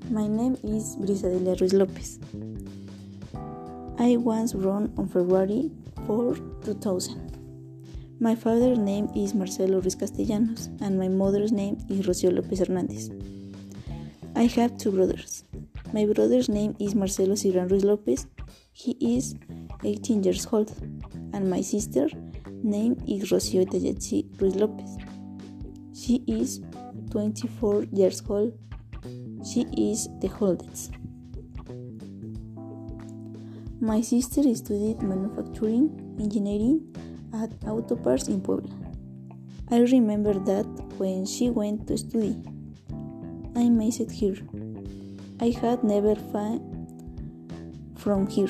My name is Brisadelia Ruiz Lopez. I was born on February 4, 2000. My father's name is Marcelo Ruiz Castellanos and my mother's name is Rocio Lopez Hernandez. I have two brothers. My brother's name is Marcelo Ciran Ruiz Lopez. He is 18 years old. And my sister's name is Rocio Tayatsi Ruiz Lopez. She is 24 years old. She is the oldest. My sister studied manufacturing engineering at Autoparts in Puebla. I remember that when she went to study, I missed her. I had never far from her.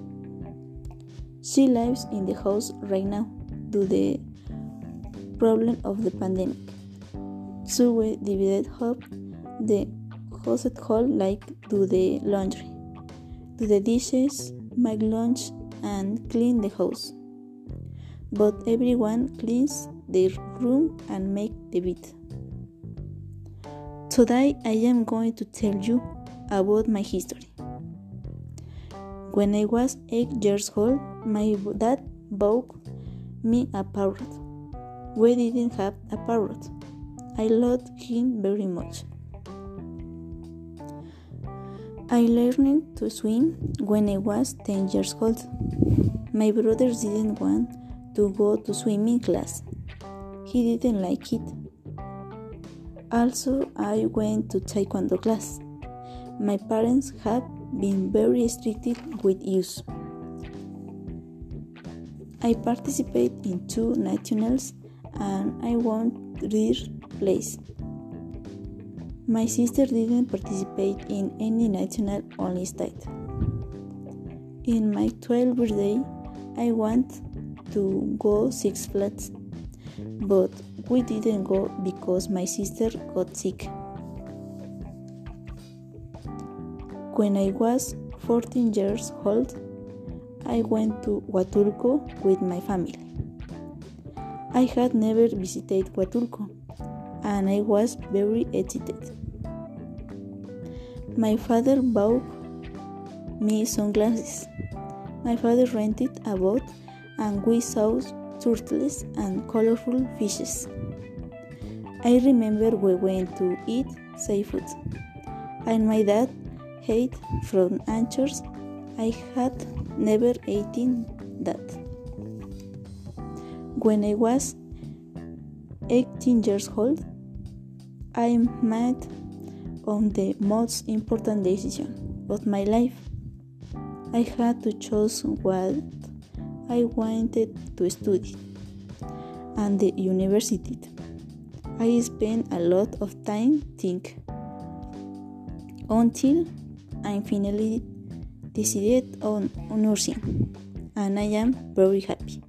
She lives in the house right now due to the problem of the pandemic. So we divided up the house at home, like do the laundry, do the dishes, make lunch, and clean the house. But everyone cleans their room and make the bed. Today I am going to tell you about my history. When I was 8 years old, my dad bought me a parrot. We didn't have a parrot. I loved him very much. I learned to swim when I was 10 years old. My brothers didn't want to go to swimming class. He didn't like it. Also, I went to taekwondo class. My parents have been very strict with us. I participated in 2 nationals and I won 3rd place. My sister didn't participate in any national, only state. In my 12th birthday, I want to go Six Flags, but we didn't go because my sister got sick. When I was 14 years old, I went to Huatulco with my family. I had never visited Huatulco, and I was very excited. My father bought me sunglasses. My father rented a boat and we saw turtles and colorful fishes. I remember we went to eat seafood, and my dad ate from anchors. I had never eaten that. When I was 18 years old, I made on the most important decision of my life. I had to choose what I wanted to study and the university. I spent a lot of time thinking until I finally decided on nursing, and I am very happy.